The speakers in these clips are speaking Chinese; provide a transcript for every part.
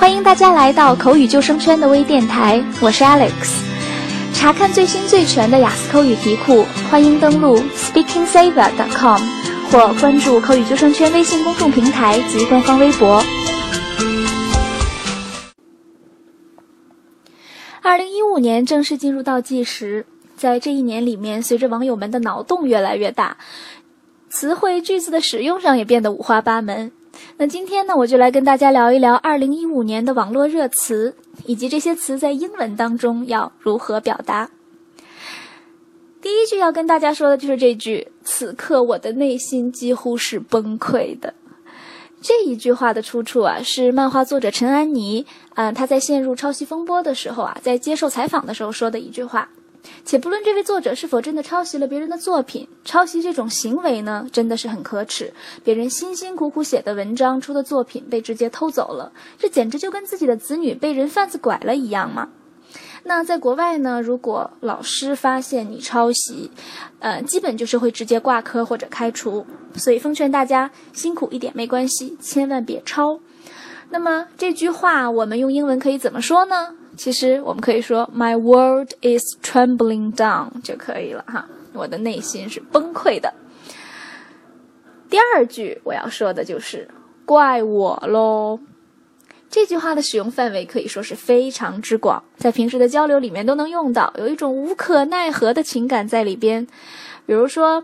欢迎大家来到口语救生圈的微电台，我是 Alex。查看最新最全的雅思口语题库，欢迎登录 speakingsaver.com 或关注口语救生圈微信公众平台及官方微博。2015年正式进入倒计时，在这一年里面，随着网友们的脑洞越来越大，词汇句子的使用上也变得五花八门。那今天呢，我就来跟大家聊一聊2015年的网络热词，以及这些词在英文当中要如何表达。第一句要跟大家说的就是这句，此刻我的内心几乎是崩溃的。这一句话的出处是漫画作者陈安妮，他在陷入抄袭风波的时候在接受采访的时候说的一句话。且不论这位作者是否真的抄袭了别人的作品，抄袭这种行为呢，真的是很可耻。别人辛辛苦苦写的文章、出的作品被直接偷走了，这简直就跟自己的子女被人贩子拐了一样嘛。那在国外呢，如果老师发现你抄袭，基本就是会直接挂科或者开除。所以奉劝大家辛苦一点没关系，千万别抄。那么这句话我们用英文可以怎么说呢？其实我们可以说 My world is trembling down 就可以了哈，我的内心是崩溃的。第二句我要说的就是怪我咯。这句话的使用范围可以说是非常之广，在平时的交流里面都能用到，有一种无可奈何的情感在里边。比如说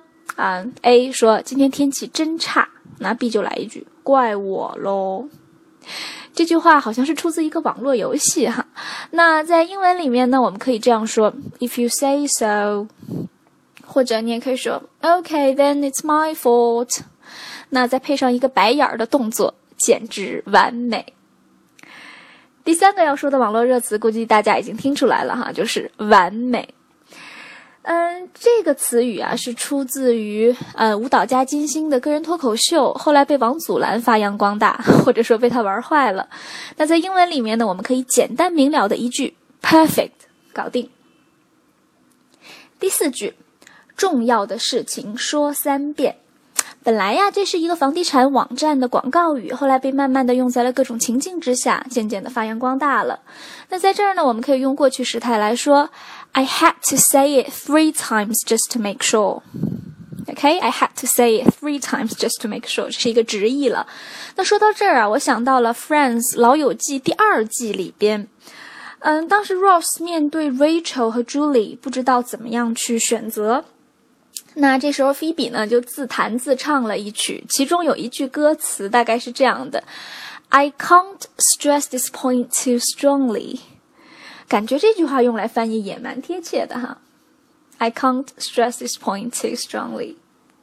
A 说今天天气真差，那 B 就来一句怪我咯。这句话好像是出自一个网络游戏哈。那在英文里面呢，我们可以这样说 If you say so， 或者你也可以说 Okay, then it's my fault。 那再配上一个白眼的动作，简直完美。第三个要说的网络热词估计大家已经听出来了哈，就是完美。这个词语是出自于舞蹈家金星的个人脱口秀，后来被王祖蓝发扬光大，或者说被他玩坏了。那在英文里面呢，我们可以简单明了的一句 perfect 搞定。第四句，重要的事情说3遍。本来这是一个房地产网站的广告语，后来被慢慢的用在了各种情境之下，渐渐的发扬光大了。那在这儿呢，我们可以用过去时态来说 I had to say it 3 times just to make sure。 Okay, I had to say it 3 times just to make sure， 这是一个直译了。那说到这儿我想到了 Friends 老友记第2季里边，当时 Ross 面对 Rachel 和 Julie 不知道怎么样去选择，那这时候菲比呢就自弹自唱了一曲，其中有一句歌词大概是这样的 I can't stress this point too strongly。 感觉这句话用来翻译也蛮贴切的哈。 I can't stress this point too strongly。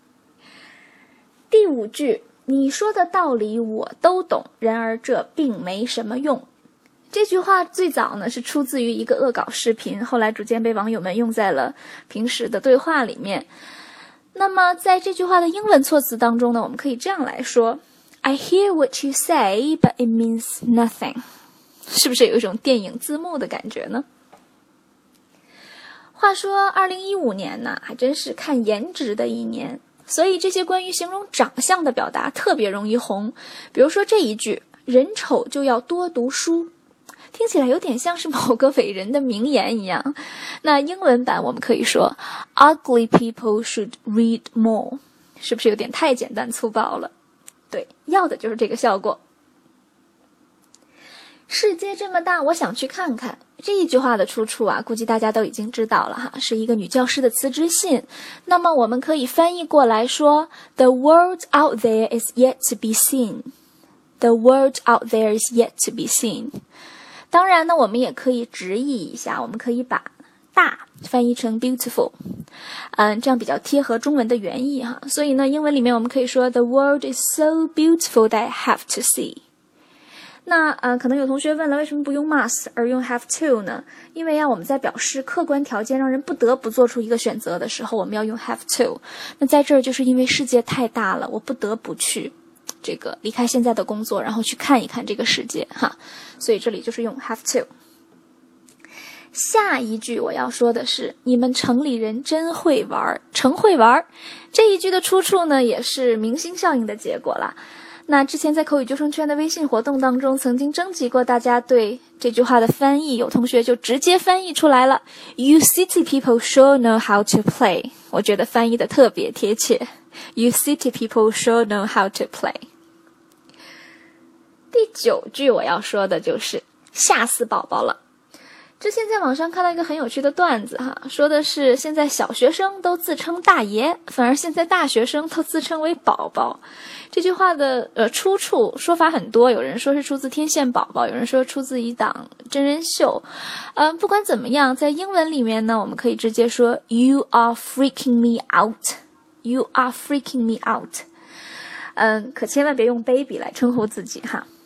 第5句，你说的道理我都懂，然而这并没什么用。这句话最早呢是出自于一个恶搞视频，后来逐渐被网友们用在了平时的对话里面。那么在这句话的英文措辞当中呢，我们可以这样来说 I hear what you say, but it means nothing。 是不是有一种电影字幕的感觉呢？话说2015年呢，还真是看颜值的一年，所以这些关于形容长相的表达特别容易红。比如说这一句，人丑就要多读书，听起来有点像是某个伟人的名言一样。那英文版我们可以说 Ugly people should read more， 是不是有点太简单粗暴了？对，要的就是这个效果。世界这么大，我想去看看。这一句话的出处估计大家都已经知道了哈，是一个女教师的辞职信。那么我们可以翻译过来说 The world out there is yet to be seen。 The world out there is yet to be seen。当然呢，我们也可以直译一下，我们可以把大翻译成 beautiful， 这样比较贴合中文的原意哈。所以呢，英文里面我们可以说 The world is so beautiful that I have to see。 那可能有同学问了，为什么不用 must 而用 have to 呢？因为我们在表示客观条件让人不得不做出一个选择的时候，我们要用 have to。 那在这儿就是因为世界太大了，我不得不去这个离开现在的工作，然后去看一看这个世界哈，所以这里就是用 have to。 下一句我要说的是你们城里人真会玩，诚会玩。这一句的出处呢也是明星效应的结果啦。 那之前在口语救生圈的微信活动当中，曾经征集过大家对这句话的翻译，有同学就直接翻译出来了 You city people sure know how to play。 我觉得翻译的特别贴切， You city people sure know how to play。 第9句我要说的就是吓死宝宝了。之前在网上看到一个很有趣的段子说的是现在小学生都自称大爷，反而现在大学生都自称为宝宝。这句话的出处说法很多，有人说是出自天线宝宝，有人说出自一档真人秀。不管怎么样，在英文里面呢，我们可以直接说 You are freaking me out， You are freaking me out。可千万别用 baby 来称呼自己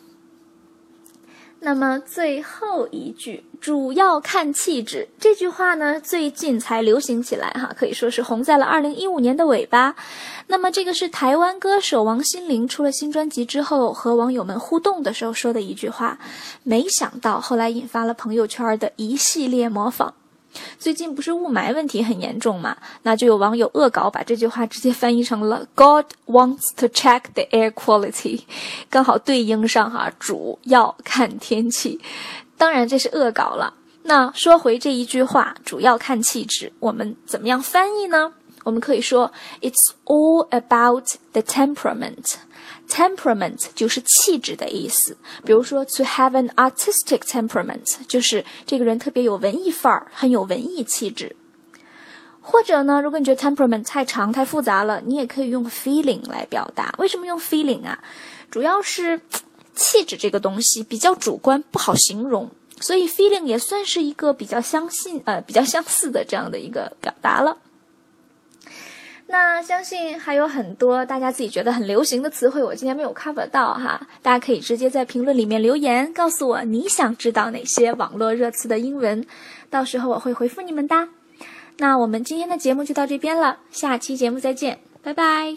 那么最后一句主要看气质，这句话呢最近才流行起来可以说是红在了2015年的尾巴。那么这个是台湾歌手王心凌出了新专辑之后和网友们互动的时候说的一句话，没想到后来引发了朋友圈的一系列模仿。最近不是雾霾问题很严重嘛，那就有网友恶搞把这句话直接翻译成了 God wants to check the air quality， 刚好对应上主要看天气。当然这是恶搞了。那说回这一句话主要看气质，我们怎么样翻译呢？我们可以说 It's all about the temperament。Temperament 就是气质的意思，比如说 to have an artistic temperament 就是这个人特别有文艺范儿，很有文艺气质。或者呢，如果你觉得 temperament 太长太复杂了，你也可以用 feeling 来表达。为什么用 feeling 主要是气质这个东西比较主观，不好形容，所以 feeling 也算是一个比较相似的这样的一个表达了。那相信还有很多大家自己觉得很流行的词汇，我今天没有 cover 到大家可以直接在评论里面留言告诉我你想知道哪些网络热词的英文，到时候我会回复你们的。那我们今天的节目就到这边了，下期节目再见，拜拜。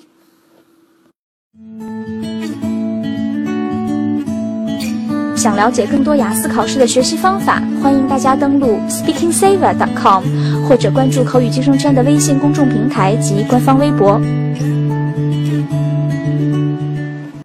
想了解更多雅思考试的学习方法，欢迎大家登录 speakingsaver.com 或者关注口语救生圈的微信公众平台及官方微博。